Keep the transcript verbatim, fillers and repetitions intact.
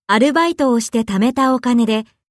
アルバイトをして貯めたお金で